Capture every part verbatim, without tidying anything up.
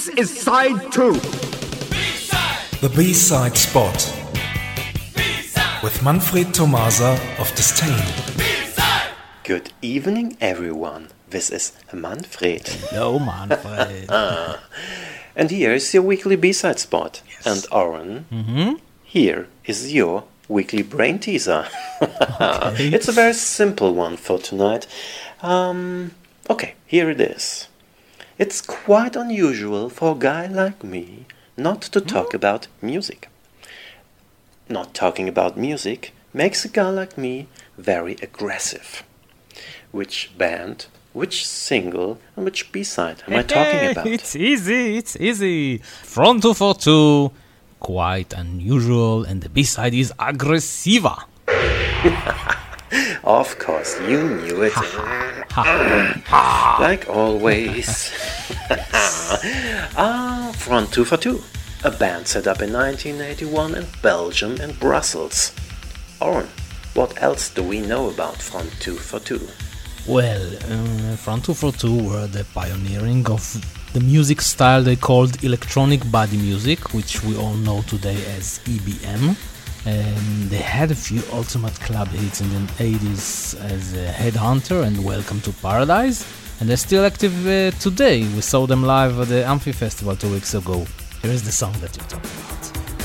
This is side two. B-side. The B-side spot. B-side. With Manfred Tomasa of Disdain. B-side. Good evening, everyone. This is Manfred. Hello, Manfred. ah. And here is your weekly B-side spot. Yes. And Oren, mm-hmm. here is your weekly brain teaser. Okay. It's a very simple one for tonight. Um, okay, here it is. It's quite unusual for a guy like me not to talk mm-hmm. about music. Not talking about music makes a guy like me very aggressive. Which band, which single, and which B-side am I talking about? It's easy, it's easy. Front two forty-two, quite unusual, and the B-side is Aggressiva. Of course, you knew it. Like always. ah, Front two forty-two, a band set up in nineteen eighty-one in Belgium and Brussels. Oren, what else do we know about Front two forty-two? Well, uh, Front two forty-two were the pioneering of the music style they called electronic body music, which we all know today as E B M. Um, they had a few ultimate club hits in the eighties as uh, Headhunter and Welcome to Paradise, and they're still active uh, today. We saw them live at the Amphi Festival two weeks ago. Here is the song that you're talking about.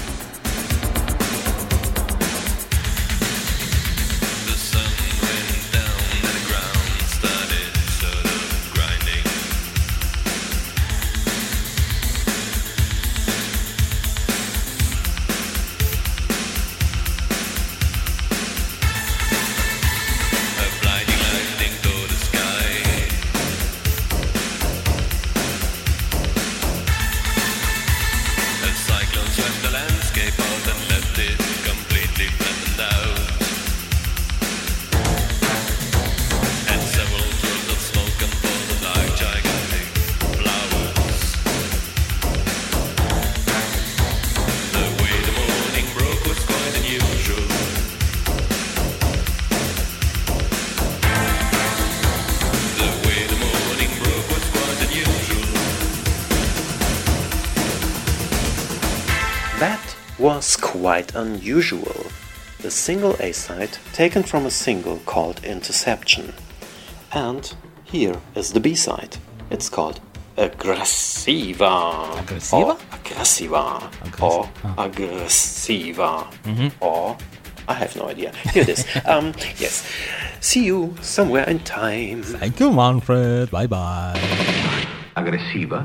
Was quite unusual. The single A-side taken from a single called Interception. And here is the B-side. It's called Aggressiva. Aggressiva? Or Aggressiva. Aggressiva. Or Oh. Aggressiva. Mm-hmm. Or I have no idea. Here it is. um, yes. See you somewhere in time. Thank you, Manfred. Bye-bye. Aggressiva.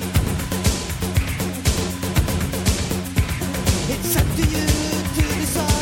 It's up to you to decide.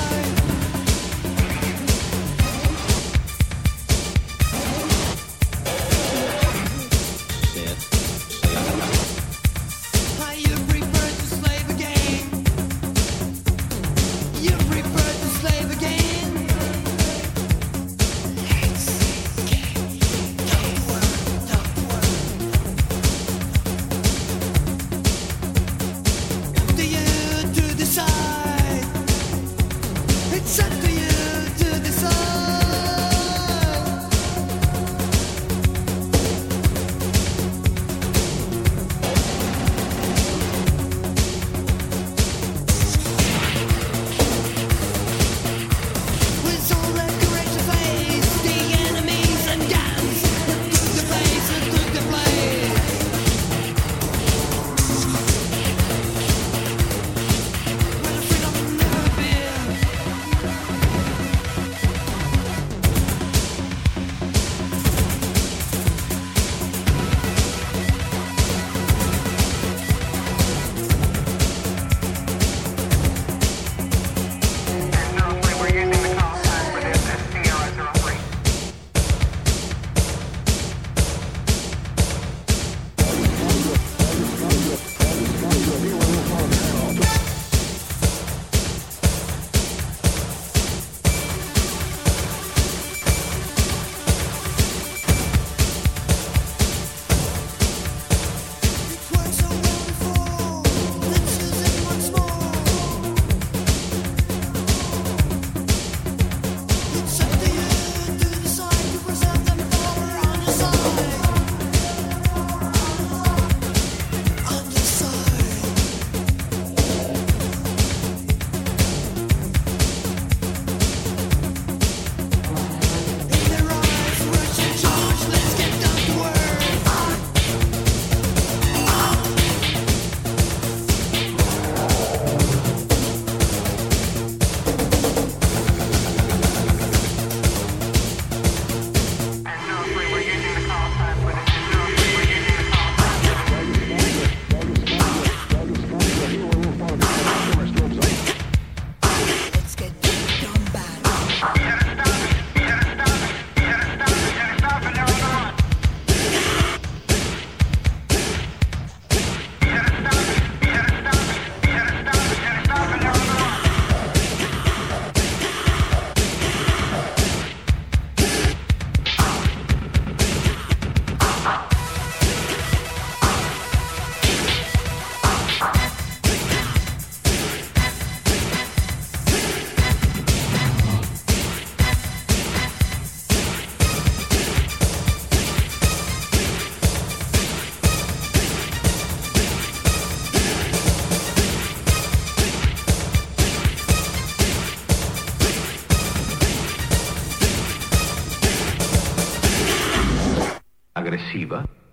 aggressiva.